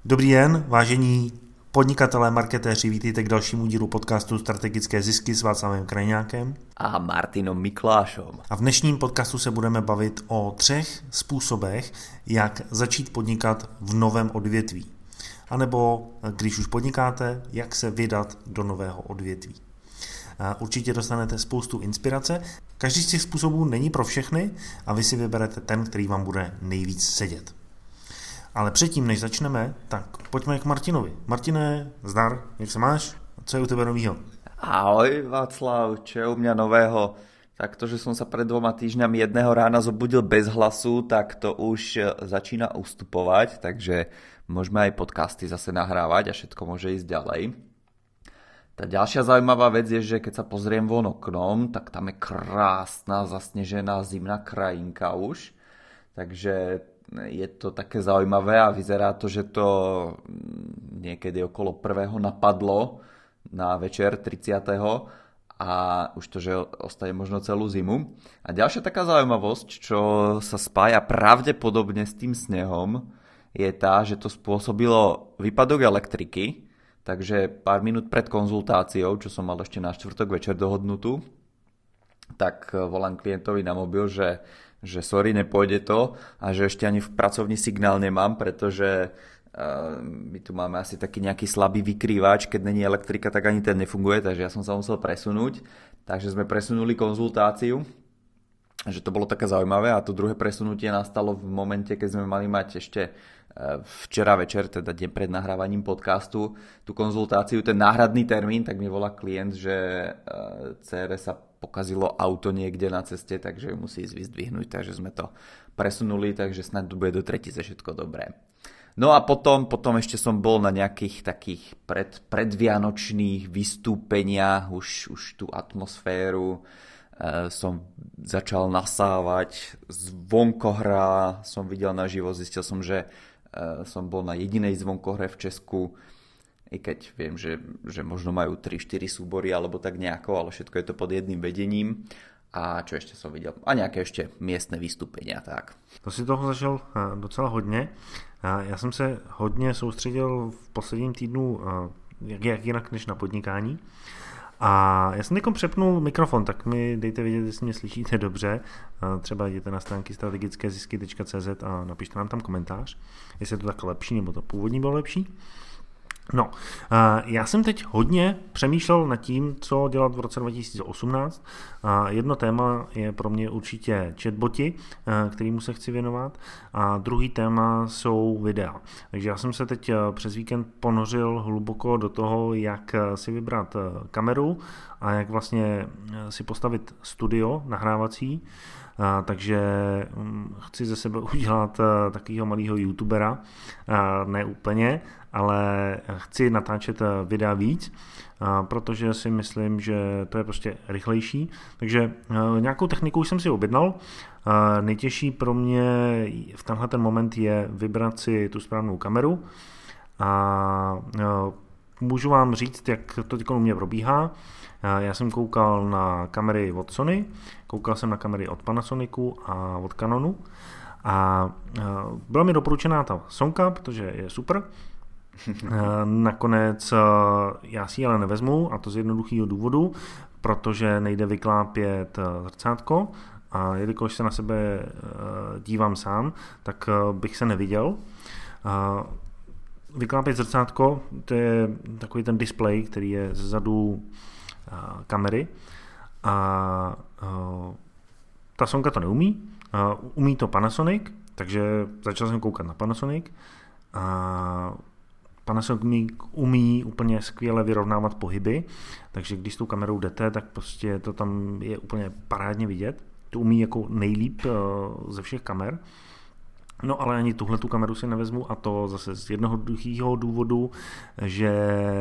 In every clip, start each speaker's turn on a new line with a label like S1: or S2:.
S1: Dobrý den, vážení podnikatelé, marketéři, vítejte k dalšímu dílu podcastu Strategické zisky s Václavem Krajňákem
S2: a Martinom Miklášom.
S1: A v dnešním podcastu se budeme bavit o 3 způsobech, jak začít podnikat v novém odvětví. A nebo, když už podnikáte, jak se vydat do nového odvětví. Určitě dostanete spoustu inspirace. Každý z těch způsobů není pro všechny a vy si vyberete ten, který vám bude nejvíc sedět. Ale předtím, než začneme, tak pojďme k Martinovi. Martine, zdar, jak se máš? Co je u tebe novýho?
S2: Ahoj Václav, čo je u mňa nového? Tak to, že som sa pred 2 týždňami jedného rána zobudil bez hlasu, tak to už začína ustupovať, takže môžeme aj podcasty zase nahrávať a všetko môže ísť ďalej. Tá ďalšia zaujímavá vec je, že keď sa pozriem von oknom, tak tam je krásna zasnežená zimná krajinka už, takže je to také zaujímavé a vyzerá to, že to niekedy okolo 1. napadlo na večer 30. a už to, že ostane možno celú zimu. A ďalšia taká zaujímavosť, čo sa spája pravdepodobne s tým snehom, je tá, že to spôsobilo výpadok elektriky, takže pár minút pred konzultáciou, čo som mal ešte na štvrtok večer dohodnutú, tak volám klientovi na mobil, že sorry, nepôjde to a že ešte ani v pracovní signál nemám, pretože my tu máme asi taký nejaký slabý vykrývač, keď není elektrika, tak ani ten nefunguje, takže ja som sa musel presunúť, takže sme presunuli konzultáciu, že to bolo také zaujímavé a to druhé presunutie nastalo v momente, keď sme mali mať ešte včera večer, teda deň pred nahrávaním podcastu, tú konzultáciu, ten náhradný termín, tak mi volá klient, že dcére sa pokazilo auto niekde na ceste, takže ju musí ísť vyzdvihnúť, takže sme to presunuli, takže snad to bude do tretice všetko dobré. No a potom ešte som bol na nejakých takých predvianočných vystúpeniach, už tú atmosféru som začal nasávať, zvonkohra som videl naživo, zistil som, že som bol na jedinej zvonkohre v Česku, i keď viem, že možno majú 3-4 súbory alebo tak nejako, ale všetko je to pod jedným vedením. A čo ešte som videl? A nějaké ještě miestne vystúpenia, tak.
S1: To si toho zažil docela hodně. Já jsem se hodně soustředil v posledním týdnu, jak jinak než na podnikání. A já jsem teď přepnul mikrofon, tak mi dejte vědět, jestli mě slyšíte dobře. Třeba jděte na stránky strategickézisky.cz a napište nám tam komentář, jestli je to tak lepší, nebo to původní bylo lepší. No, já jsem teď hodně přemýšlel nad tím, co dělat v roce 2018. Jedno téma je pro mě určitě chatboti, kterému se chci věnovat, a druhý téma jsou videa. Takže já jsem se teď přes víkend ponořil hluboko do toho, jak si vybrat kameru a jak vlastně si postavit studio nahrávací. Takže chci ze sebe udělat takového malého youtubera, ne úplně, ale chci natáčet videa víc, protože si myslím, že to je prostě rychlejší. Takže nějakou techniku už jsem si objednal. Nejtěžší pro mě v tenhle ten moment je vybrat si tu správnou kameru a můžu vám říct, jak to teď u mě probíhá. Já jsem koukal na kamery od Sony, koukal jsem na kamery od Panasonicu a od Canonu a byla mi doporučená ta Sonka, protože je super. Nakonec já si ji ale nevezmu, a to z jednoduchého důvodu, protože nejde vyklápět zrcátko a jelikož se na sebe dívám sám, tak bych se neviděl. Vyklápět zrcátko, to je takový ten displej, který je zezadu kamery a ta Sonka to neumí, umí to Panasonic, takže začal jsem koukat na Panasonic a Panasonic umí úplně skvěle vyrovnávat pohyby, takže když s tou kamerou jdete, tak prostě to tam je úplně parádně vidět, to umí jako nejlíp ze všech kamer. No ale ani tuhletu kameru si nevezmu, a to zase z jednoduchého důvodu, že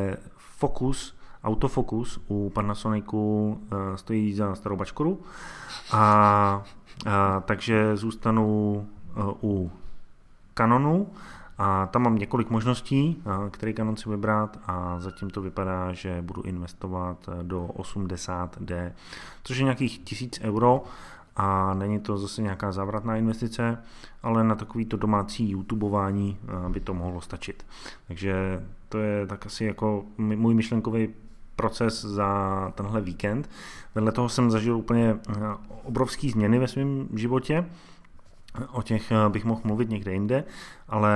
S1: autofokus u Panasonicu stojí za starou bačkoru a takže zůstanu u Canonu a tam mám několik možností, který Canon si vybrat, a zatím to vypadá, že budu investovat do 80D, což je nějakých 1000 euro a není to zase nějaká závratná investice, ale na takovýto domácí YouTubeování by to mohlo stačit. Takže to je tak asi jako můj myšlenkový proces za tenhle víkend. Vedle toho jsem zažil úplně obrovský změny ve svém životě. O těch bych mohl mluvit někde jinde, ale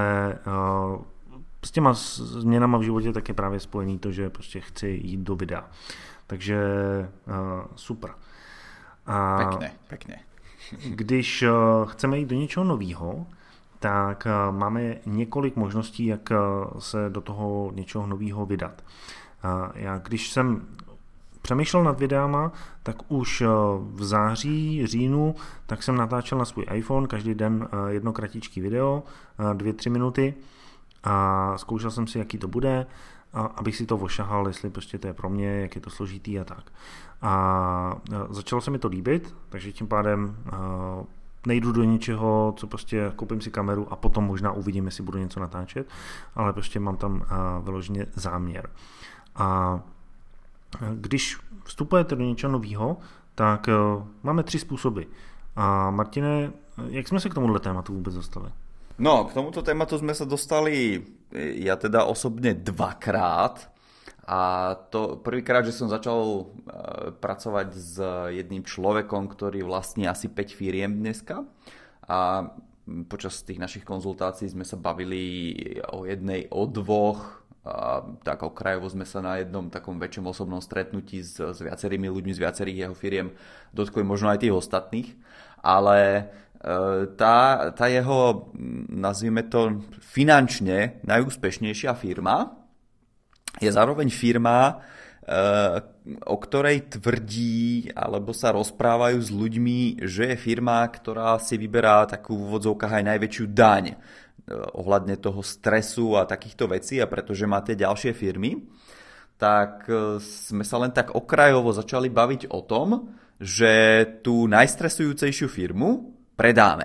S1: s těma změnama v životě tak je právě spojený to, že prostě chci jít do videa. Takže super.
S2: Pekne.
S1: Když chceme jít do něčeho nového, tak máme několik možností, jak se do toho něčeho nového vydat. Já když jsem přemýšlel nad videama, tak už v září, říjnu, tak jsem natáčel na svůj iPhone každý den jedno kratičký video, 2-3 minuty a zkoušel jsem si, jaký to bude, abych si to ošahal, jestli prostě to je pro mě, jak je to složitý a tak. A začalo se mi to líbit, takže tím pádem nejdu do něčeho, co prostě koupím si kameru a potom možná uvidím, jestli budu něco natáčet, ale prostě mám tam vyloženě záměr. A když vstupujete do něčeho nového, tak máme 3 způsoby. A Martine, jak jsme se k tomuhle tématu vůbec dostali?
S2: No, k tomuto tématu sme sa dostali ja teda osobne 2-krát. A to prvýkrát, že som začal pracovať s jedným človekom, ktorý vlastní asi 5 firiem dneska. A počas tých našich konzultácií sme sa bavili o jednej, o 2, a tak okrajovo sme sa na jednom takom väčšom osobnom stretnutí s viacerými ľuďmi z viacerých jeho firiem dotkli možno aj tých ostatných, ale tá jeho, nazvime to, finančne najúspešnejšia firma je zároveň firma, o ktorej tvrdí alebo sa rozprávajú s ľuďmi, že je firma, ktorá si vyberá takú v úvodzovkách aj najväčšiu daň ohľadne toho stresu a takýchto vecí, a pretože má tie ďalšie firmy, tak sme sa len tak okrajovo začali baviť o tom, že tú najstresujúcejšiu firmu predáme.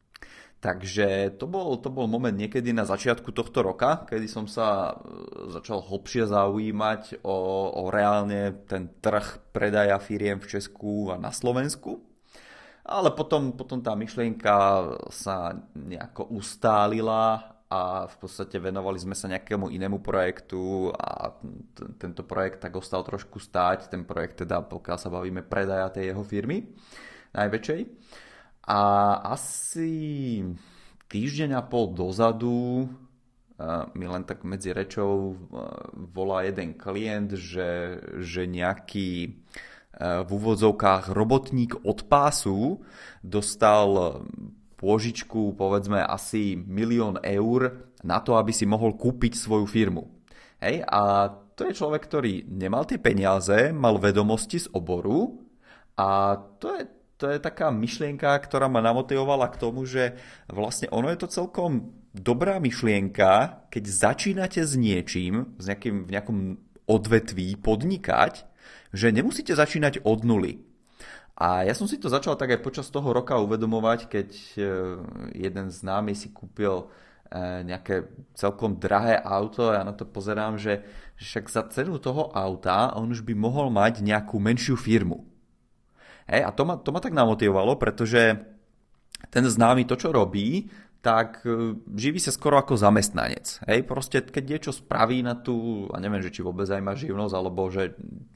S2: Takže to bol moment niekedy na začiatku tohto roka, kedy som sa začal hlbšie zaujímať o reálne ten trh predaja firiem v Česku a na Slovensku. Ale potom tá myšlienka sa nejako ustálila a v podstate venovali sme sa nejakému inému projektu a tento projekt tak ostal trošku stáť. Ten projekt teda, pokiaľ sa bavíme, predaja tej jeho firmy najväčšej. A asi týždeň a pol dozadu mi len tak medzi rečou volá jeden klient, že nejaký v úvodzovkách robotník od pásu dostal pôžičku povedzme asi 1 000 000 eur na to, aby si mohol kúpiť svoju firmu. Hej? A to je človek, ktorý nemal tie peniaze, mal vedomosti z oboru a to je taká myšlienka, ktorá ma namotivovala k tomu, že vlastne ono je to celkom dobrá myšlienka, keď začínate s niečím, v nejakom odvetví podnikať, že nemusíte začínať od nuly. A ja som si to začal tak aj počas toho roka uvedomovať, keď jeden známy si kúpil nejaké celkom drahé auto a ja na to pozerám, že však za cenu toho auta on už by mohol mať nejakú menšiu firmu. Hej, a to ma tak namotivovalo, pretože ten známy to, čo robí, tak živí sa skoro ako zamestnanec. Hej, proste keď niečo spraví na tú, a neviem, že či vôbec aj má živnosť, alebo že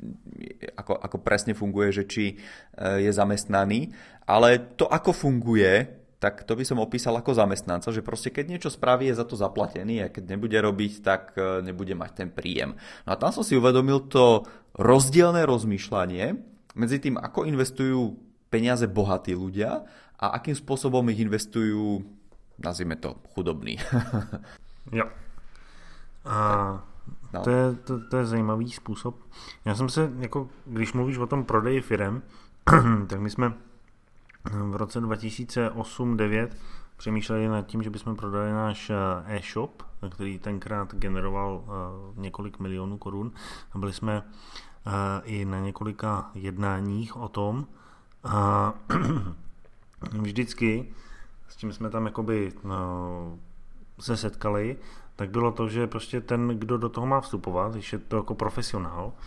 S2: ako presne funguje, že či je zamestnaný, ale to, ako funguje, tak to by som opísal ako zamestnanca, že proste keď niečo spraví, je za to zaplatený a keď nebude robiť, tak nebude mať ten príjem. No a tam som si uvedomil to rozdielne rozmýšľanie medzi tým, ako investujú peniaze bohatí ľudia a akým spôsobom ich investujú, nazvime to, chudobní.
S1: Jo. A no. To je zajímavý způsob. Já jsem se, jako, když mluvíš o tom prodeji firem, tak my jsme v roce 2008-2009 přemýšleli nad tím, že bychom prodali náš e-shop, který tenkrát generoval několik milionů korun. A byli jsme i na několika jednáních o tom. A vždycky, s čím jsme tam jakoby se setkali, tak bylo to, že prostě ten, kdo do toho má vstupovat, když je to jako profesionál,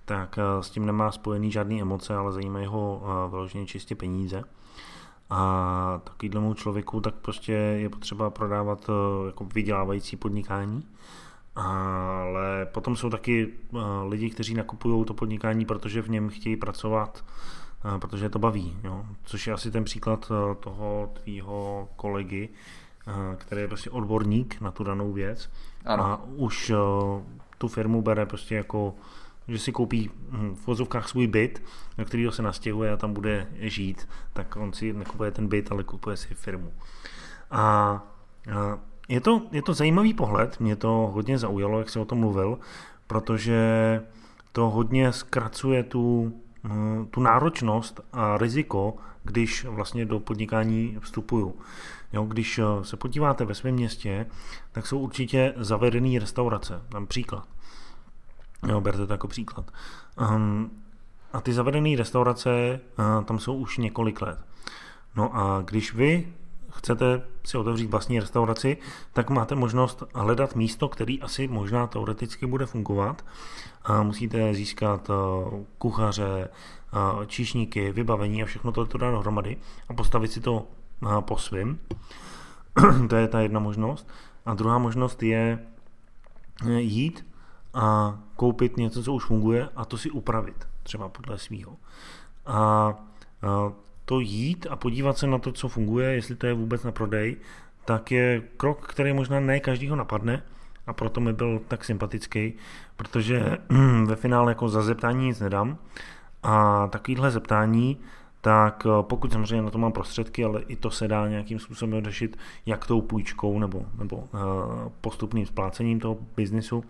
S1: tak s tím nemá spojený žádný emoce, ale zajímají ho vyloženě čistě peníze. A takovýhlemu člověku tak prostě je potřeba prodávat jako vydělávající podnikání. Ale potom jsou taky lidi, kteří nakupují to podnikání, protože v něm chtějí pracovat, protože je to baví. Jo? Což je asi ten příklad toho tvýho kolegy, který je prostě odborník na tu danou věc. Ano. A už tu firmu bere prostě jako, že si koupí v vozovkách svůj byt, na kterýho se nastěhuje a tam bude žít, tak on si nekupuje ten byt, ale kupuje si firmu. A je to zajímavý pohled, mě to hodně zaujalo, jak jsi o tom mluvil, protože to hodně zkracuje tu náročnost a riziko, když vlastně do podnikání vstupuju. Jo, když se podíváte ve svém městě, tak jsou určitě zavedené restaurace, tam příklad. Jo, berte to jako příklad. A ty zavedené restaurace tam jsou už několik let. No a když vy chcete si otevřít vlastní restauraci, tak máte možnost hledat místo, který asi možná teoreticky bude fungovat. Musíte získat kuchaře, číšníky, vybavení a všechno to dá dohromady a postavit si to po svým. To je ta jedna možnost. A druhá možnost je jít a koupit něco, co už funguje a to si upravit, třeba podle svýho. A to jít a podívat se na to, co funguje, jestli to je vůbec na prodej, tak je krok, který možná ne každýho napadne a proto mi byl tak sympatický, protože ve finále jako za zeptání nic nedám a takovýhle zeptání, tak pokud samozřejmě na to mám prostředky, ale i to se dá nějakým způsobem řešit, jak tou půjčkou nebo postupným splácením toho biznisu.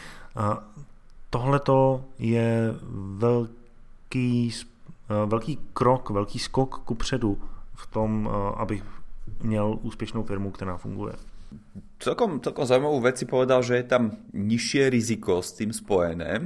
S1: Tohleto je velký krok, velký skok kupředu v tom, abych měl úspěšnou firmu, která funguje.
S2: Celkom zaujímavú vec si povedal, že je tam nižšie riziko s tým spojené.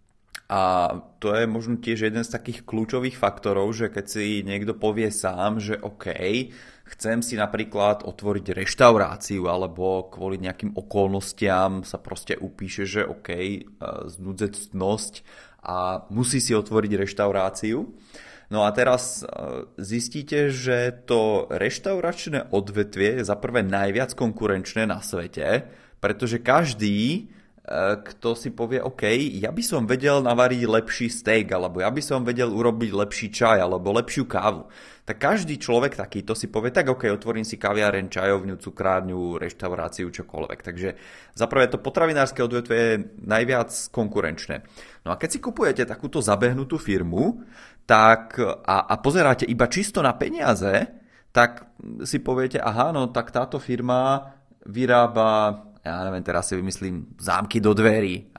S2: A to je možno tiež jeden z takých kľúčových faktorov, že keď si niekto povie sám, že OK, chcem si napríklad otvoriť reštauráciu alebo kvôli nejakým okolnostiam sa proste upíše, že OK, znudzecnosť a musí si otvoriť reštauráciu. No a teraz zistíte, že to reštauračné odvetvie je za prvé najviac konkurenčné na svete, pretože každý, kto si povie, OK, ja by som vedel navariť lepší steak, alebo ja by som vedel urobiť lepší čaj, alebo lepšiu kávu. Tak každý človek takýto si povie, tak OK, otvorím si kaviareň, čajovňu, cukrárňu, reštauráciu, čokoľvek. Takže zaprvé to potravinárske odvetvie je najviac konkurenčné. No a keď si kupujete takúto zabehnutú firmu, tak a pozeráte iba čisto na peniaze, tak si poviete, aha, no tak táto firma vyrába, ja neviem, teraz si vymyslím zámky do dverí,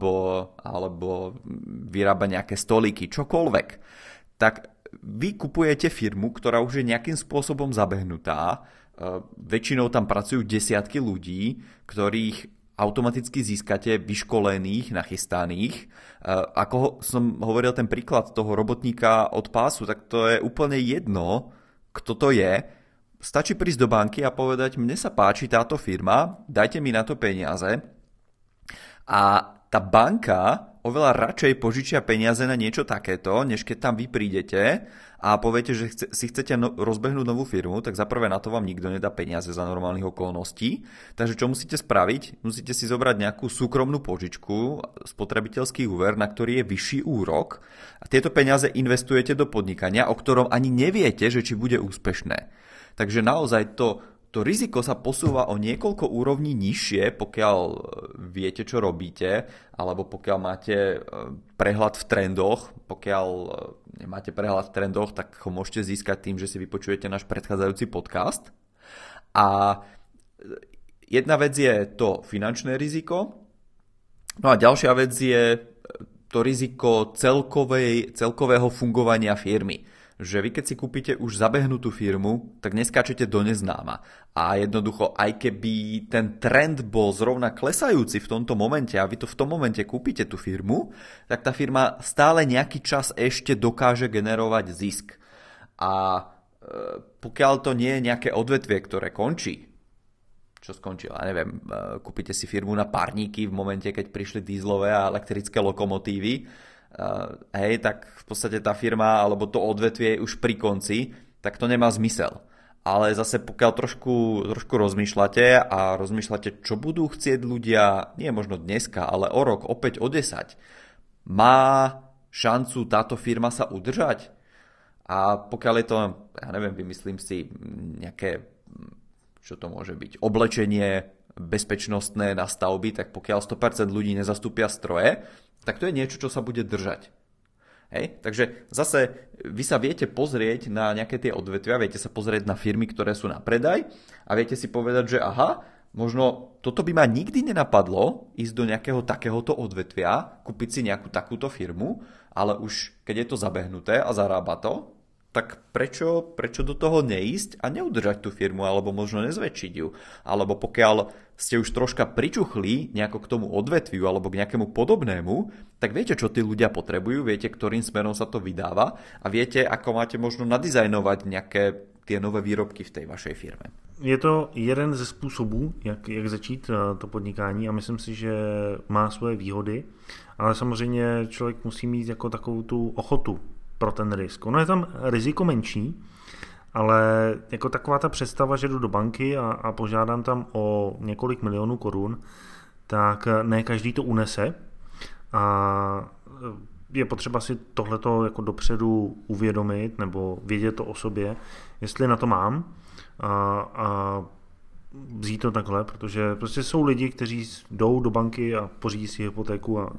S2: alebo vyrába nejaké stolíky, čokoľvek. Tak vy kupujete firmu, ktorá už je nejakým spôsobom zabehnutá, väčšinou tam pracujú desiatky ľudí, ktorých automaticky získate vyškolených, nachystaných. Ako som hovoril ten príklad toho robotníka od pásu, tak to je úplne jedno, kto to je. Stačí prísť do banky a povedať, mne sa páči táto firma, dajte mi na to peniaze. A tá banka oveľa radšej požičia peniaze na niečo takéto, než keď tam vy prídete a poviete, že si chcete rozbehnúť novú firmu, tak zaprvé na to vám nikto nedá peniaze za normálnych okolností. Takže čo musíte spraviť? Musíte si zobrať nejakú súkromnú požičku, spotrebiteľský úver, na ktorý je vyšší úrok a tieto peniaze investujete do podnikania, o ktorom ani neviete, že či bude úspešné. Takže naozaj to riziko sa posúva o niekoľko úrovní nižšie, pokiaľ viete, čo robíte, alebo pokiaľ máte prehľad v trendoch. Pokiaľ nemáte prehľad v trendoch, tak ho môžete získať tým, že si vypočujete náš predchádzajúci podcast. A jedna vec je to finančné riziko, no a ďalšia vec je to riziko celkového fungovania firmy. Že vy keď si kúpite už zabehnutú firmu, tak neskáčete do neznáma. A jednoducho, aj keby ten trend bol zrovna klesajúci v tomto momente a vy to v tom momente kúpite tú firmu, tak tá firma stále nejaký čas ešte dokáže generovať zisk. A pokiaľ to nie je nejaké odvetvie, ktoré končí, čo skončilo, ja neviem, kúpite si firmu na párníky v momente, keď prišli dízlové a elektrické lokomotívy, hej, tak v podstate tá firma alebo to odvetvie je už pri konci, tak to nemá zmysel. Ale zase pokiaľ trošku rozmýšľate a rozmýšľate, čo budú chcieť ľudia, nie možno dneska, ale o rok, opäť o 10, má šancu táto firma sa udržať? A pokiaľ je to, ja neviem, vymyslím si nejaké, čo to môže byť, oblečenie bezpečnostné na stavby, tak pokiaľ 100% ľudí nezastúpia stroje, tak to je niečo, čo sa bude držať. Hej? Takže zase vy sa viete pozrieť na nejaké tie odvetvia, viete sa pozrieť na firmy, ktoré sú na predaj a viete si povedať, že aha, možno toto by ma nikdy nenapadlo ísť do nejakého takéhoto odvetvia, kúpiť si nejakú takúto firmu, ale už keď je to zabehnuté a zarába to, tak prečo do toho neísť a neudržať tú firmu, alebo možno nezväčšiť ju. Alebo pokiaľ ste už troška pričuchli nejako k tomu odvetviu alebo k nejakému podobnému, tak viete, čo tí ľudia potrebujú, viete, ktorým smerom sa to vydáva a viete, ako máte možno nadizajnovať nejaké tie nové výrobky v tej vašej firme.
S1: Je to jeden ze způsobů, jak začít to podnikání a myslím si, že má svoje výhody, ale samozřejmě člověk musí mít jako takovou tu ochotu pro ten risk. Ono je tam riziko menší, ale jako taková ta představa, že jdu do banky a požádám tam o několik milionů korun, tak ne každý to unese a je potřeba si tohleto jako dopředu uvědomit nebo vědět to o sobě, jestli na to mám a vzít to takhle, protože prostě jsou lidi, kteří jdou do banky a pořídí si hypotéku a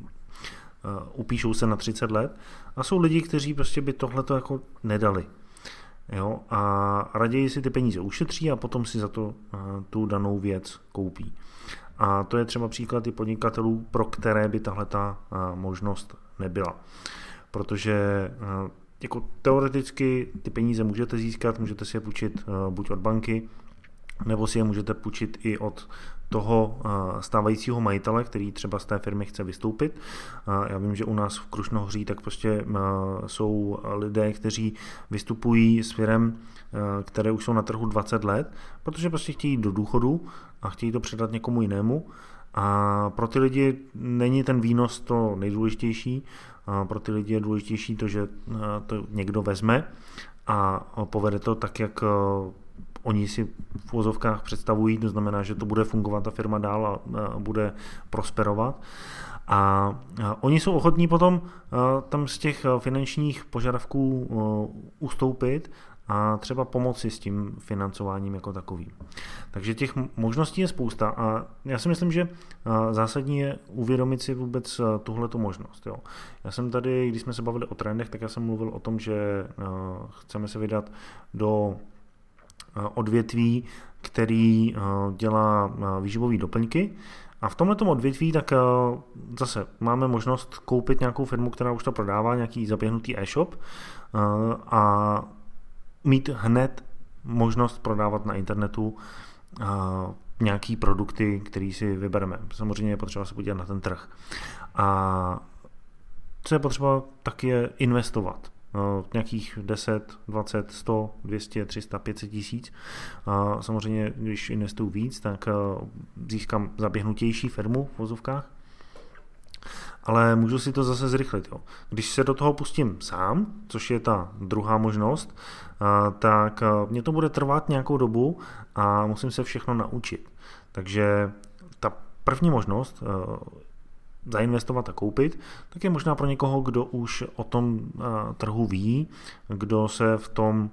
S1: upíšou se na 30 let a jsou lidi, kteří prostě by tohleto jako nedali. Jo? A raději si ty peníze ušetří a potom si za to tu danou věc koupí. A to je třeba příklad i podnikatelů, pro které by tahleta možnost nebyla. Protože jako teoreticky ty peníze můžete získat, můžete si je půjčit buď od banky, nebo si je můžete půjčit i od toho stávajícího majitele, který třeba z té firmy chce vystoupit. Já vím, že u nás v Krušnohoří tak prostě jsou lidé, kteří vystupují s firem, které už jsou na trhu 20 let, protože prostě chtějí jít do důchodu a chtějí to předat někomu jinému. A pro ty lidi není ten výnos to nejdůležitější. Pro ty lidi je důležitější to, že to někdo vezme a povede to tak, jak oni si v uvozovkách představují, to znamená, že to bude fungovat ta firma dál a bude prosperovat. A oni jsou ochotní potom tam z těch finančních požadavků ustoupit a třeba pomoci s tím financováním jako takovým. Takže těch možností je spousta a já si myslím, že zásadní je uvědomit si vůbec tuhletu možnost. Jo. Já jsem tady, když jsme se bavili o trendech, tak já jsem mluvil o tom, že chceme se vydat do odvětví, který dělá výživové doplňky. A v tomto odvětví tak zase máme možnost koupit nějakou firmu, která už to prodává, nějaký zaběhnutý e-shop a mít hned možnost prodávat na internetu nějaký produkty, který si vybereme. Samozřejmě je potřeba se podívat na ten trh. A co je potřeba, tak je investovat. Nějakých 10, 20, 100, 200, 300, 500 tisíc. Samozřejmě, když investuju víc, tak získám zaběhnutější firmu v vozovkách, ale můžu si to zase zrychlit. Jo. Když se do toho pustím sám, což je ta druhá možnost, tak mě to bude trvat nějakou dobu a musím se všechno naučit. Takže ta první možnost zainvestovat a koupit, tak je možná pro někoho, kdo už o tom trhu ví, kdo se v tom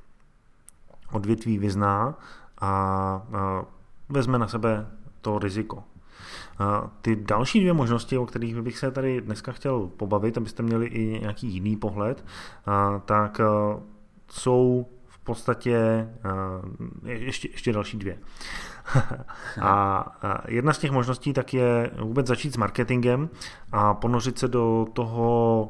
S1: odvětví vyzná a vezme na sebe to riziko. Ty další dvě možnosti, o kterých bych se tady dneska chtěl pobavit, abyste měli i nějaký jiný pohled, tak jsou v podstatě ještě další dvě. A jedna z těch možností tak je vůbec začít s marketingem a ponořit se do toho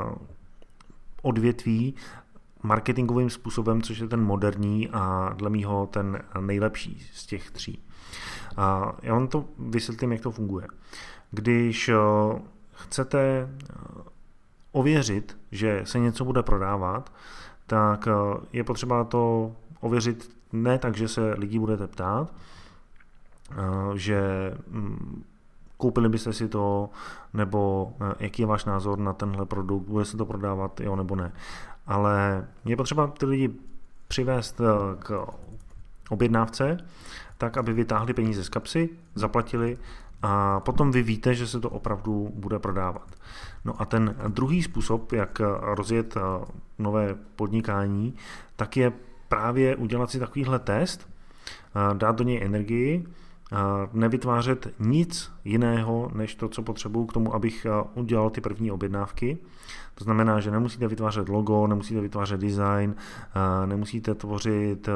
S1: odvětví marketingovým způsobem, což je ten moderní a dle mýho ten nejlepší z těch tří. Já vám to vysvětlím, jak to funguje. Když chcete ověřit, že se něco bude prodávat, tak je potřeba to ověřit ne tak, že se lidí budete ptát, že koupili byste si to, nebo jaký je váš názor na tenhle produkt, bude se to prodávat, jo nebo ne. Ale je potřeba ty lidi přivést k objednávce, tak, aby vytáhli peníze z kapsy, zaplatili a potom vy víte, že se to opravdu bude prodávat. No a ten druhý způsob, jak rozjet nové podnikání, tak je právě udělat si takovýhle test, dát do něj energii, nevytvářet nic jiného, než to, co potřebuju k tomu, abych udělal ty první objednávky. To znamená, že nemusíte vytvářet logo, nemusíte vytvářet design, nemusíte tvořit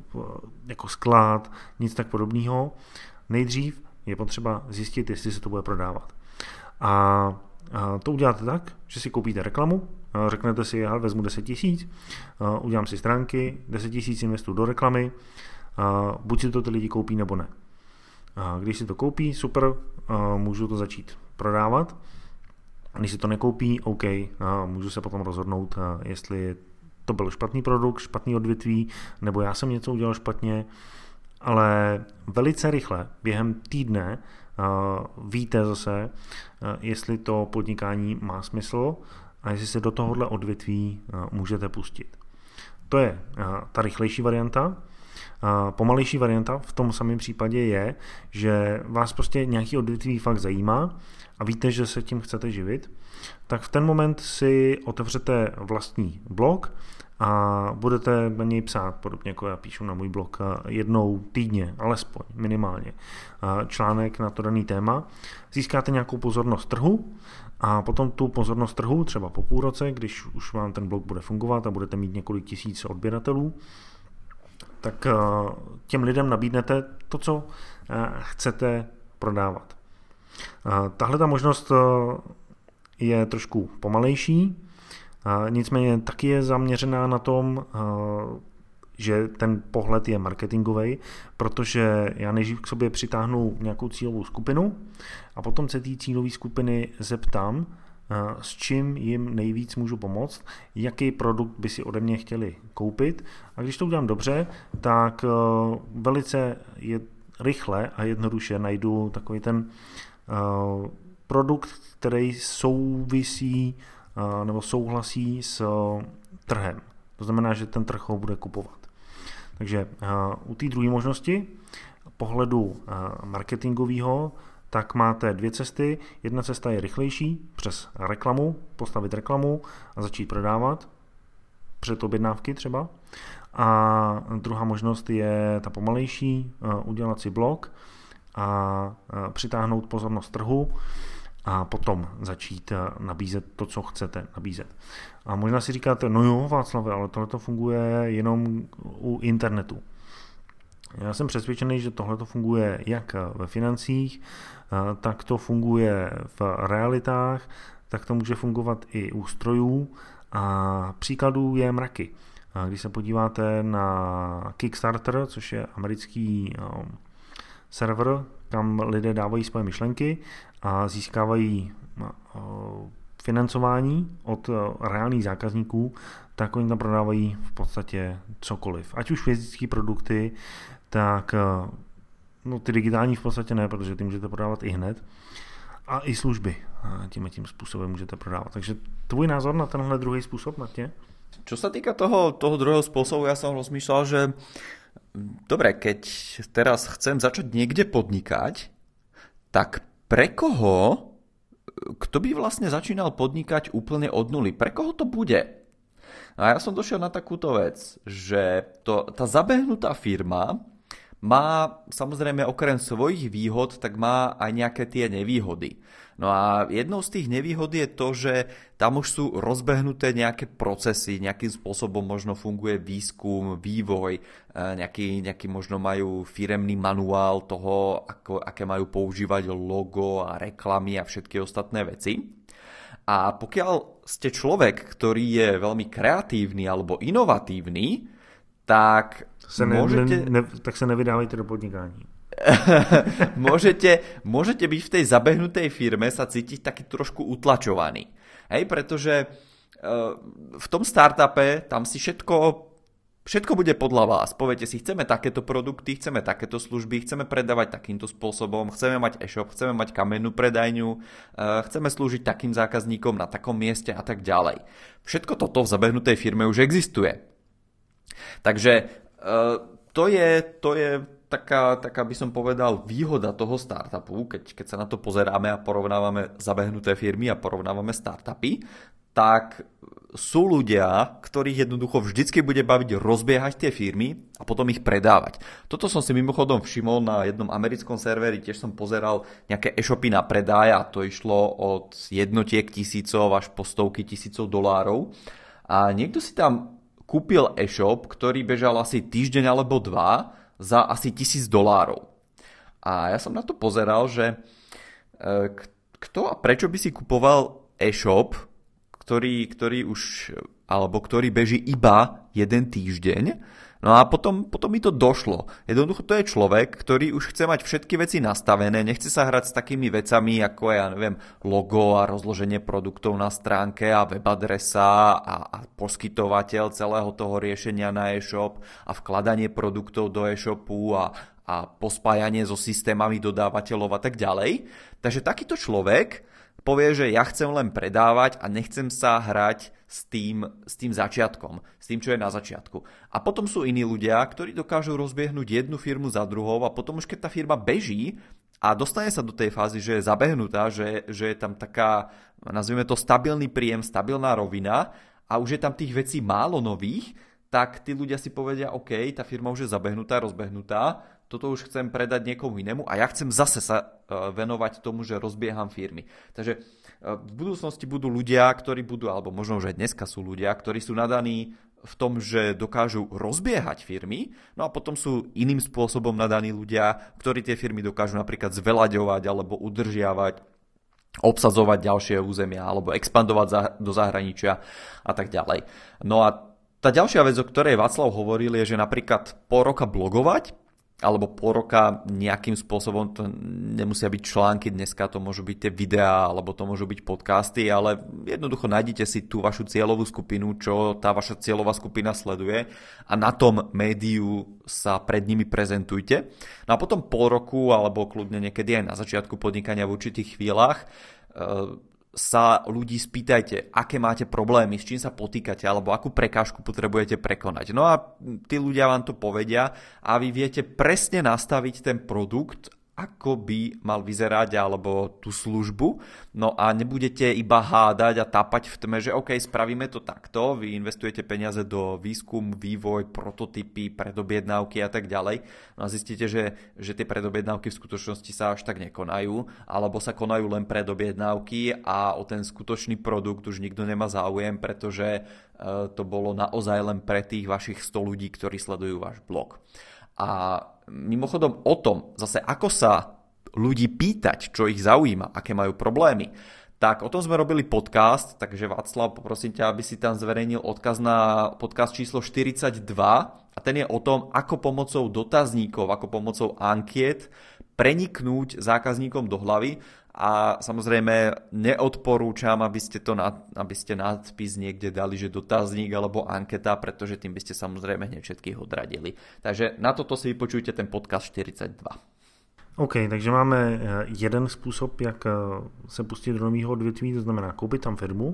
S1: jako sklad, nic tak podobného. Nejdřív je potřeba zjistit, jestli se to bude prodávat. A to uděláte tak, že si koupíte reklamu, řeknete si, já vezmu 10 000, udělám si stránky, 10 000 investuju do reklamy, buď si to ty lidi koupí, nebo ne. Když si to koupí, super, můžu to začít prodávat. Když si to nekoupí, OK, můžu se potom rozhodnout, jestli to byl špatný produkt, špatný odvětví, nebo já jsem něco udělal špatně, ale velice rychle, během týdne, víte zase, jestli to podnikání má smysl a jestli se do tohohle odvětví můžete pustit. To je ta rychlejší varianta. Pomalejší varianta v tom samém případě je, že vás prostě nějaký odvětví fakt zajímá a víte, že se tím chcete živit, tak v ten moment si otevřete vlastní blog a budete na něj psát, podobně jako já píšu na můj blog, jednou týdně, alespoň minimálně, článek na to daný téma. Získáte nějakou pozornost trhu a potom tu pozornost trhu, třeba po půl roce, když už vám ten blog bude fungovat a budete mít několik tisíc odběratelů, tak těm lidem nabídnete to, co chcete prodávat. Tahle ta možnost je trošku pomalejší, nicméně taky je zaměřená na tom, že ten pohled je marketingový, protože já nejdřív k sobě přitáhnu nějakou cílovou skupinu a potom se té cílové skupiny zeptám, s čím jim nejvíc můžu pomoct, jaký produkt by si ode mě chtěli koupit. A když to udělám dobře, tak velice rychle a jednoduše najdu takový ten produkt, který souvisí nebo souhlasí s trhem. To znamená, že ten trh ho bude kupovat. Takže u té druhé možnosti, pohledu marketingového, tak máte dvě cesty. Jedna cesta je rychlejší, přes reklamu, postavit reklamu a začít prodávat, před objednávky třeba. A druhá možnost je ta pomalejší, udělat si blog a přitáhnout pozornost trhu a potom začít nabízet to, co chcete nabízet. A možná si říkáte, no jo, Václave, ale tohle to funguje jenom u internetu. Já jsem přesvědčený, že tohle to funguje jak ve financích, tak to funguje v realitách, tak to může fungovat i u strojů a příkladů je mraky. Když se podíváte na Kickstarter, což je americký server, kam lidé dávají svoje myšlenky a získávají financování od reálných zákazníků, tak oni tam prodávají v podstatě cokoliv. Ať už fyzické produkty, tak no, ty digitální v podstatě ne, protože ty můžete prodávat i hned. A i služby tím způsobem můžete prodávat. Takže tvůj názor na tenhle druhý způsob, Martě?
S2: Čo sa týka toho druhého spôsobu, ja som rozmýšľal, že dobre, keď teraz chcem začať niekde podnikať, tak pre koho, kto by vlastne začínal podnikať úplne od nuly? Pre koho to bude? A ja som došiel na takúto vec, že tá zabehnutá firma má samozrejme okrem svojich výhod, tak má aj nejaké tie nevýhody. No a jednou z tých nevýhod je to, že tam už sú rozbehnuté nejaké procesy, nejakým spôsobom možno funguje výskum, vývoj, nejaký možno majú firemný manuál toho, aké majú používať logo a reklamy a všetky ostatné veci. A pokiaľ ste človek, ktorý je veľmi kreatívny alebo inovatívny, tak
S1: tak se nevydávajte do podnikání.
S2: môžete byť v tej zabehnutej firme sa cítiť taký trošku utlačovaný. Hej, pretože v tom startupe tam si všetko Všetko bude podľa vás. Poviete si, chceme takéto produkty, chceme takéto služby, chceme predávať takýmto spôsobom, chceme mať e-shop, chceme mať kamennú predajňu, chceme slúžiť takým zákazníkom na takom mieste a tak ďalej. Všetko toto v zabehnutej firme už existuje. Takže to je taká by som povedal výhoda toho startupu, keď sa na to pozeráme a porovnávame zabehnuté firmy a porovnávame startupy, tak sú ľudia, ktorých jednoducho vždycky bude baviť rozbiehať tie firmy a potom ich predávať. Toto som si mimochodom všimol na jednom americkom serveri, tiež som pozeral nejaké e-shopy na predaj a to išlo od jednotiek tisícov až po stovky tisícov dolárov. A niekto si tam kúpil e-shop, ktorý bežal asi týždeň alebo dva za asi $1000. A ja som na to pozeral, že kto a prečo by si kupoval e-shop, ktorý už, alebo ktorý beží iba jeden týždeň. No a potom mi to došlo. Jednoducho to je človek, ktorý už chce mať všetky veci nastavené, nechce sa hrať s takými vecami, ako je, logo a rozloženie produktov na stránke a webadresa a poskytovateľ celého toho riešenia na e-shop a vkladanie produktov do e-shopu a pospájanie so systémami dodávateľov a tak ďalej. Takže takýto človek povie, že ja chcem len predávať a nechcem sa hrať s tým začiatkom, s tým, čo je na začiatku. A potom sú iní ľudia, ktorí dokážu rozbiehnúť jednu firmu za druhou a potom už keď tá firma beží a dostane sa do tej fázy, že je zabehnutá, že je tam taká, nazvime to stabilný príjem, stabilná rovina a už je tam tých vecí málo nových, tak tí ľudia si povedia, OK, tá firma už je zabehnutá, rozbehnutá, toto už chcem predať niekomu inému a ja chcem zase sa venovať tomu, že rozbieham firmy. Takže v budúcnosti budú ľudia, ktorí budú, alebo možno už aj dneska sú ľudia, ktorí sú nadaní v tom, že dokážu rozbiehať firmy, no a potom sú iným spôsobom nadaní ľudia, ktorí tie firmy dokážu napríklad zvelaďovať alebo udržiavať, obsadzovať ďalšie územia alebo expandovať do zahraničia a tak ďalej. No a tá ďalšia vec, o ktorej Václav hovoril, je, že napríklad pol roka blogovať alebo pol roka nejakým spôsobom, to nemusia byť články, dneska to môžu byť tie videá, alebo to môžu byť podcasty, ale jednoducho nájdete si tú vašu cieľovú skupinu, čo tá vaša cieľová skupina sleduje a na tom médiu sa pred nimi prezentujte. No a potom pol roku, alebo kľudne niekedy aj na začiatku podnikania v určitých chvíľach, sa ľudí spýtajte, aké máte problémy, s čím sa potýkate, alebo akú prekážku potrebujete prekonať. No a tí ľudia vám to povedia a vy viete presne nastaviť ten produkt, ako by mal vyzerať, alebo tú službu. No a nebudete iba hádať a tápať v tme, že OK, spravíme to takto, vy investujete peniaze do výskum, vývoj, prototypy, predobjednávky a tak ďalej. No a zistíte, že tie predobjednávky v skutočnosti sa až tak nekonajú, alebo sa konajú len predobjednávky a o ten skutočný produkt už nikto nemá záujem, pretože to bolo naozaj len pre tých vašich 100 ľudí, ktorí sledujú váš blog. A mimochodom o tom, zase ako sa ľudí pýtať, čo ich zaujíma, aké majú problémy, tak o tom sme robili podcast, takže Václav, poprosím ťa, aby si tam zverejnil odkaz na podcast číslo 42 a ten je o tom, ako pomocou dotazníkov, ako pomocou ankiet preniknúť zákazníkom do hlavy. A samozrejme neodporúčam, aby ste nadpis niekde dali, že dotazník alebo anketa, pretože tým by ste samozrejme hneď všetkých odradili. Takže na toto si vypočujte ten podcast 42.
S1: OK, takže máme jeden způsob, jak se pustit do nového odvětví, to znamená koupit tam firmu.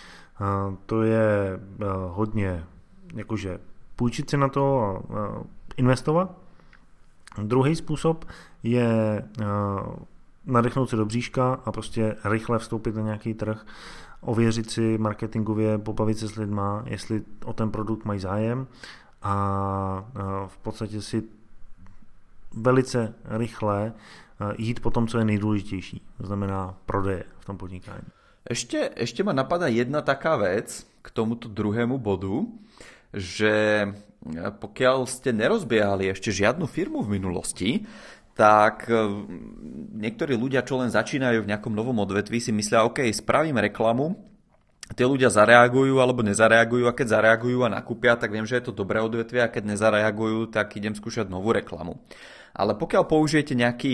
S1: To je hodně jakože půjčit si na to a investovat. Druhý způsob je nadechnout se do bříška a prostě rychle vstoupit na nějaký trh, ověřit si marketingově, pobavit se s lidma, jestli o ten produkt mají zájem a v podstatě si velice rychle jít po tom, co je nejdůležitější, to znamená prodeje v tom podnikání.
S2: Ešte ma napadá jedna taká vec k tomuto druhému bodu, že pokiaľ ste nerozbiehali ešte žiadnu firmu v minulosti, tak niektorí ľudia, čo len začínajú v nejakom novom odvetví, si myslia, OK, spravím reklamu, tí ľudia zareagujú alebo nezareagujú a keď zareagujú a nakúpia, tak viem, že je to dobré odvetvie a keď nezareagujú, tak idem skúšať novú reklamu. Ale pokiaľ použijete nejaký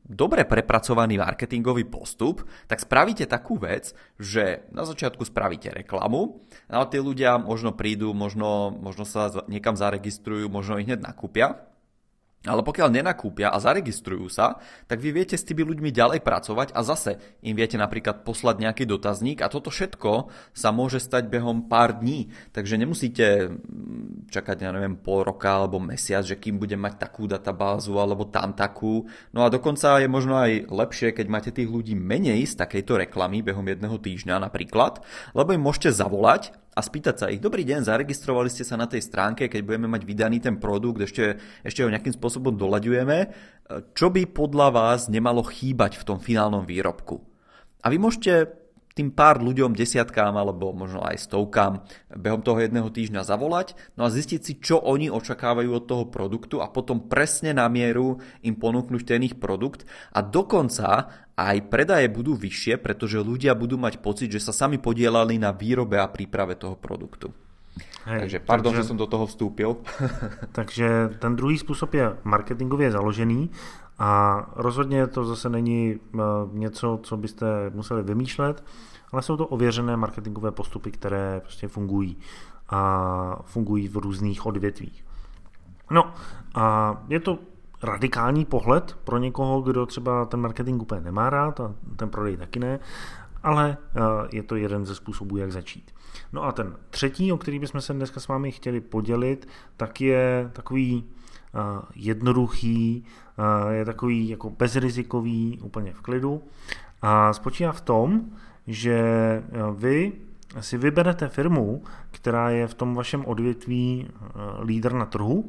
S2: dobre prepracovaný marketingový postup, tak spravíte takú vec, že na začiatku spravíte reklamu, ale tí ľudia možno prídu, možno sa niekam zaregistrujú, možno ich hneď nakúpia. Ale pokiaľ nenakúpia a zaregistrujú sa, tak vy viete s tými ľuďmi ďalej pracovať a zase im viete napríklad poslať nejaký dotazník a toto všetko sa môže stať behom pár dní. Takže nemusíte čakať, ja neviem, pol roka alebo mesiac, že kým budem mať takú databázu alebo tam takú. No a dokonca je možno aj lepšie, keď máte tých ľudí menej z takejto reklamy behom jedného týždňa napríklad, lebo im môžete zavolať a spýtať sa ich, dobrý deň, zaregistrovali ste sa na tej stránke, keď budeme mať vydaný ten produkt, ešte ho nejakým spôsobom doľaďujeme, čo by podľa vás nemalo chýbať v tom finálnom výrobku. A vy môžete tým pár ľuďom, desiatkám alebo možno aj stovkám behom toho jedného týždňa zavolať, no a zistiť si, čo oni očakávajú od toho produktu a potom presne na mieru im ponúknuť ten ich produkt a dokonca aj predaje budú vyššie, pretože ľudia budú mať pocit, že sa sami podielali na výrobe a príprave toho produktu. Takže pardon, že som do toho vstúpil.
S1: Takže ten druhý způsob je marketingově založený a rozhodně to zase není něco, co byste museli vymýšlet, ale jsou to ověřené marketingové postupy, které prostě fungují a fungují v různých odvětvích. No a je to radikální pohled pro někoho, kdo třeba ten marketing úplně nemá rád a ten prodej taky ne, ale je to jeden ze způsobů, jak začít. No a ten třetí, o který bychom se dneska s vámi chtěli podělit, tak je takový jednoduchý, je takový jako bezrizikový, úplně v klidu a spočívá v tom, že vy si vyberete firmu, která je v tom vašem odvětví lídr na trhu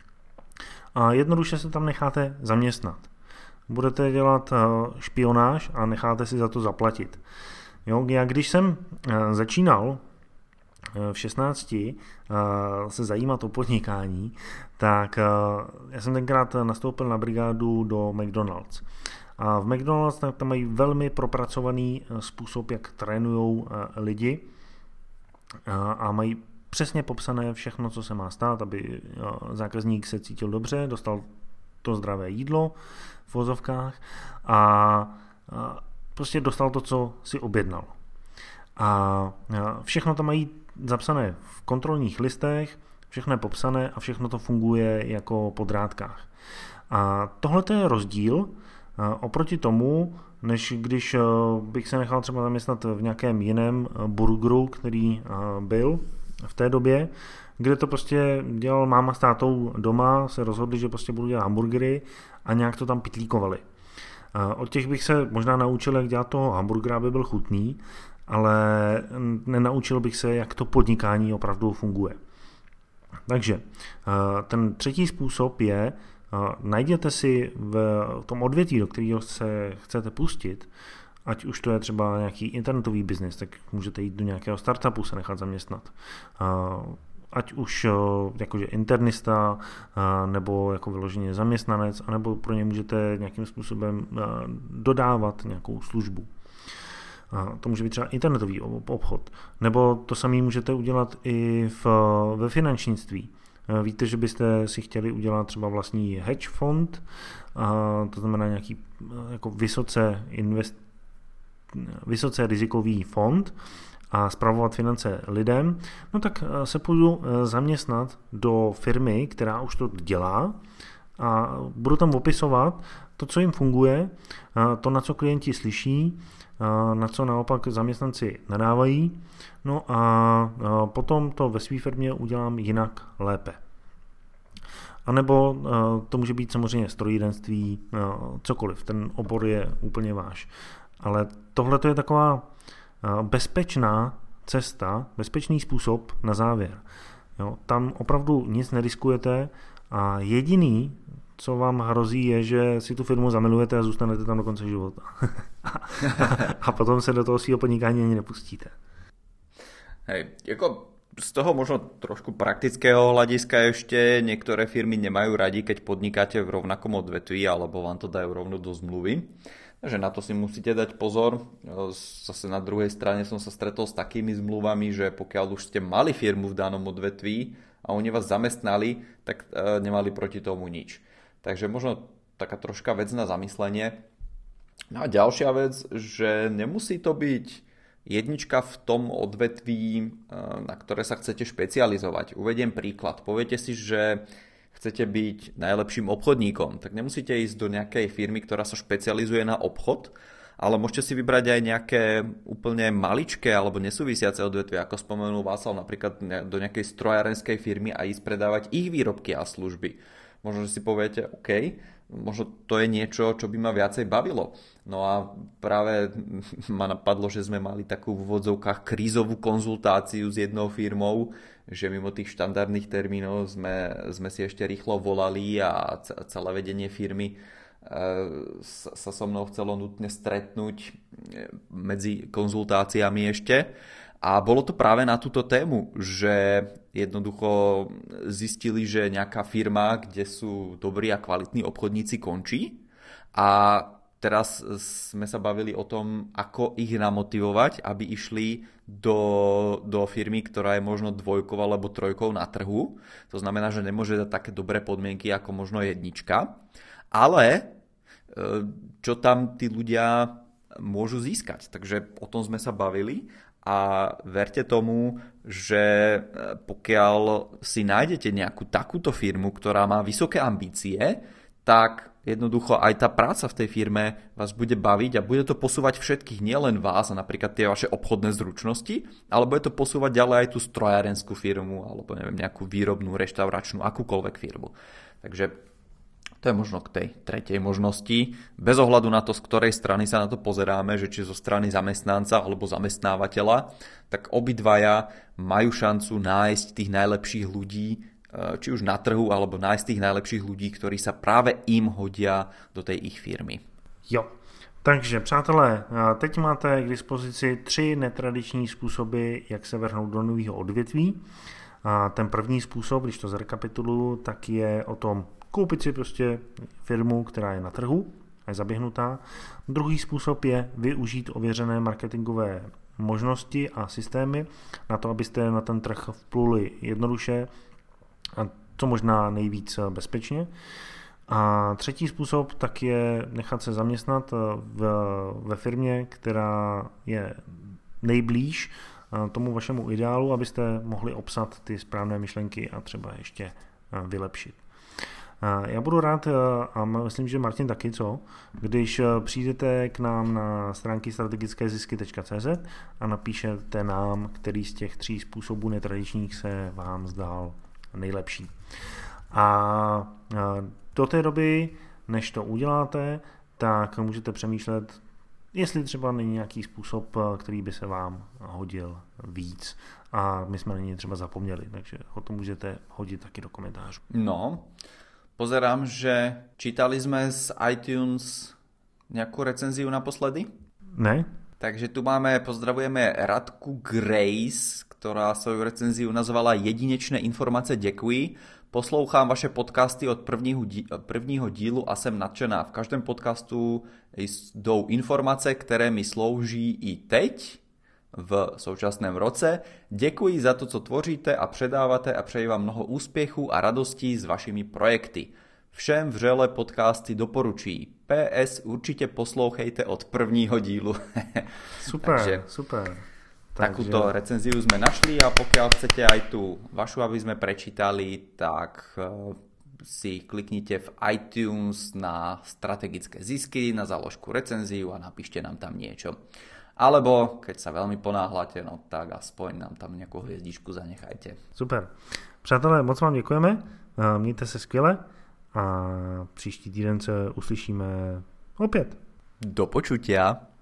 S1: a jednoduše se tam necháte zaměstnat. Budete dělat špionáž a necháte si za to zaplatit. Jo, já když jsem začínal v 16 se zajímat o podnikání, tak já jsem tenkrát nastoupil na brigádu do McDonald's. A v McDonald's tam mají velmi propracovaný způsob, jak trénujou lidi a mají přesně popsané všechno, co se má stát, aby zákazník se cítil dobře, dostal to zdravé jídlo v vozovkách a prostě dostal to, co si objednal. A všechno tam mají zapsané v kontrolních listech, všechno je popsané a všechno to funguje jako po drátkách. A tohle je rozdíl oproti tomu, než když bych se nechal třeba zaměstnat v nějakém jiném burgeru, který byl v té době, kde to prostě dělal máma s tátou doma, se rozhodli, že prostě budou dělat hamburgery a nějak to tam pitlíkovali. Od těch bych se možná naučil, jak dělat toho hamburgera, aby byl chutný, ale nenaučil bych se, jak to podnikání opravdu funguje. Takže ten třetí způsob je, najděte si v tom odvětví, do kterého se chcete pustit, ať už to je třeba nějaký internetový biznis, tak můžete jít do nějakého startupu, se nechat zaměstnat. Ať už jakože internista, nebo jako vyloženě zaměstnanec, anebo pro ně můžete nějakým způsobem dodávat nějakou službu. To může být třeba internetový obchod. Nebo to samé můžete udělat i ve finančnictví. Víte, že byste si chtěli udělat třeba vlastní hedge fond, to znamená nějaký jako vysoce rizikový fond a spravovat finance lidem, no tak se půjdu zaměstnat do firmy, která už to dělá a budu tam opisovat to, co jim funguje, to, na co klienti slyší, na co naopak zaměstnanci nadávají, no a potom to ve své firmě udělám jinak lépe. A nebo to může být samozřejmě strojírenství, cokoliv, ten obor je úplně váš. Ale tohle je taková bezpečná cesta, bezpečný způsob na závěr. Jo, tam opravdu nic neriskujete a jediný, co vám hrozí, je, že si tu firmu zamilujete a zůstanete tam do konce života. A potom se do toho svého podnikání ani nepustíte.
S2: Hej, jako z toho možno trošku praktického hľadiska ešte niektoré firmy nemajú radi, keď podnikáte v rovnakom odvetví alebo vám to dajú rovno do zmluvy. Takže na to si musíte dať pozor. Zase na druhej strane som sa stretol s takými zmluvami, že pokiaľ už ste mali firmu v danom odvetví a oni vás zamestnali, tak nemali proti tomu nič. Takže možno taká troška vec na zamyslenie. No a ďalšia vec, že nemusí to byť jednička v tom odvetví, na ktoré sa chcete špecializovať. Uvediem príklad. Poviete si, že chcete byť najlepším obchodníkom, tak nemusíte ísť do nejakej firmy, ktorá sa špecializuje na obchod, ale môžete si vybrať aj nejaké úplne maličké alebo nesúvisiace odvetvia, ako spomenul Václav, napríklad do nejakej strojárenskej firmy a ísť predávať ich výrobky a služby. Možno, že si poviete, OK, možno to je niečo, čo by ma viacej bavilo. No a práve ma napadlo, že sme mali takú v úvodzovkách krízovú konzultáciu s jednou firmou, že mimo tých štandardných termínov sme si ešte rýchlo volali a celé vedenie firmy sa so mnou chcelo nutne stretnúť medzi konzultáciami ešte. A bolo to práve na túto tému, že jednoducho zistili, že nejaká firma, kde sú dobrí a kvalitní obchodníci, končí. A teraz sme sa bavili o tom, ako ich namotivovať, aby išli do firmy, ktorá je možno 2 alebo 3 na trhu. To znamená, že nemôže dať také dobré podmienky ako možno 1. Ale čo tam tí ľudia môžu získať. Takže o tom sme sa bavili. A verte tomu, že pokiaľ si nájdete nejakú takúto firmu, ktorá má vysoké ambície, tak jednoducho aj tá práca v tej firme vás bude baviť a bude to posúvať všetkých, nielen vás a napríklad tie vaše obchodné zručnosti, ale bude to posúvať ďalej aj tú strojárenskú firmu alebo neviem, nejakú výrobnú, reštauračnú, akúkoľvek firmu. Takže to je možno k tej tretej možnosti. Bez ohľadu na to, z ktorej strany sa na to pozeráme, že či zo strany zamestnanca alebo zamestnávateľa, tak obidvaja majú šancu nájsť tých najlepších ľudí, či už na trhu, alebo nájsť tých najlepších ľudí, ktorí sa práve im hodia do tej ich firmy.
S1: Jo, takže přátelé, teď máte k dispozici 3 netradiční způsoby, jak se vrhnout do nového odvětví. Ten první způsob, když to zrekapituluju, tak je o tom koupit si prostě firmu, která je na trhu a je zaběhnutá. Druhý způsob je využít ověřené marketingové možnosti a systémy na to, abyste na ten trh vpluli jednoduše a co možná nejvíc bezpečně. A třetí způsob tak je nechat se zaměstnat ve firmě, která je nejblíž tomu vašemu ideálu, abyste mohli obsat ty správné myšlenky a třeba ještě vylepšit. Já budu rád, a myslím, že Martin taky, když přijdete k nám na stránky strategickézisky.cz a napíšete nám, který z těch 3 způsobů netradičních se vám zdál nejlepší. A do té doby, než to uděláte, tak můžete přemýšlet, jestli třeba není nějaký způsob, který by se vám hodil víc. A my jsme na něj třeba zapomněli, takže o tom můžete hodit taky do komentářů.
S2: No, pozerám, že čítali sme z iTunes nejakú recenziu naposledy?
S1: Ne.
S2: Takže tu pozdravujeme Radku Grace, ktorá svoju recenziu nazvala Jedinečné informace děkuji. Poslouchám vaše podcasty od prvního dílu a jsem nadšená. V každém podcastu jdou informace, které mi slouží i teď, v současném roce. Děkuji za to, co tvoříte a předáváte a přeji vám mnoho úspěchů a radostí s vašimi projekty. Všem vřele podcasty doporučuji. PS určitě poslouchejte od prvního dílu.
S1: Super,
S2: Takže,
S1: super.
S2: Takúto recenziu sme našli a pokiaľ chcete aj tú vašu, aby sme prečítali, tak si kliknite v iTunes na strategické zisky, na záložku recenziu a napíšte nám tam niečo. Alebo keď sa veľmi ponáhľate, no tak aspoň nám tam nejakú hviezdičku zanechajte.
S1: Super. Přátelé, moc vám děkujeme, mějte se skvěle a příští týden se uslyšíme opět.
S2: Do počutia.